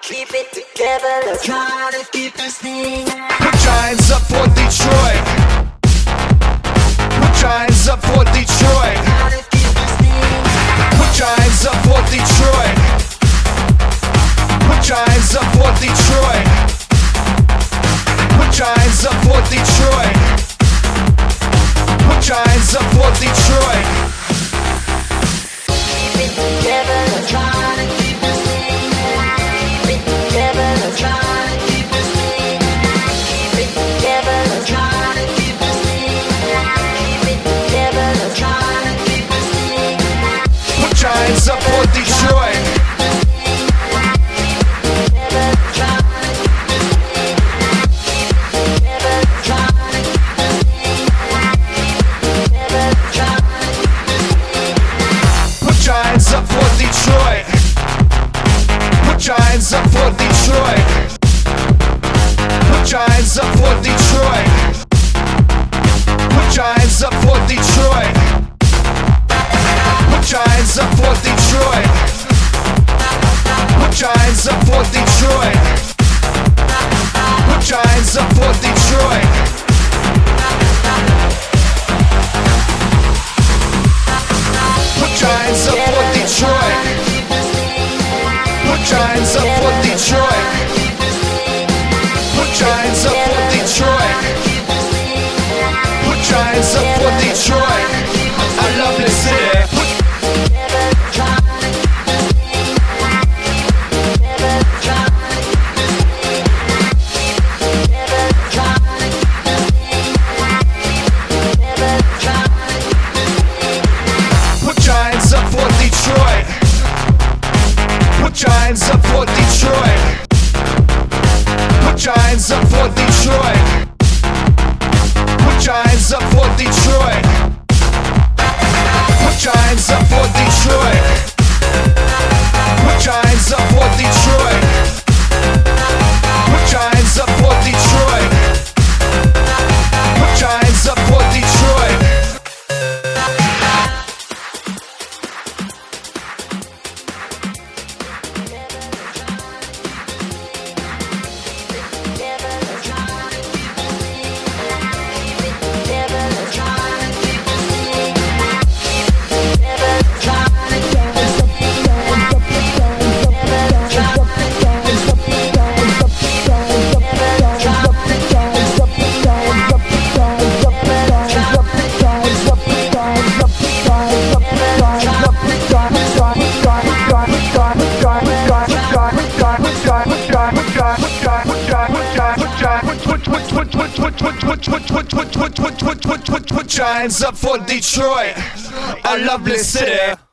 keep it together, let's try to keep this thing. Put your hands up for Detroit. Put your hands up for Detroit. Try to keep this thing. Put your hands up for Detroit. Put your hands up for Detroit. Put your hands up for Detroit. Put your hands up for Detroit. Keep it together, let's try to keep this thing. Keep it together, let's try to keep this thing. Keep it together, let's try to keep this thing. Keep it together, let's try to keep this thing. Put your hands up for Detroit. Put your hands up for Detroit. Put your hands up for Detroit. Put your hands up for Detroit. Put your hands up for Detroit. Put your hands up for Detroit. Put your hands up for Detroit. Put your hands up for Detroit. Put your hands up for Detroit. Put your hands up for Detroit. Put your hands up for Detroit. Put your hands up for Detroit. I love this city. Put your hands up for Detroit. Put your hands up for Detroit. Put your hands up for Detroit. Put your hands up for Detroit. Put your hands up for Detroit. Put your hands up for Detroit. Put your hands up for Detroit. Put your hands up for Detroit. Put your hands up for Detroit, a lovely city.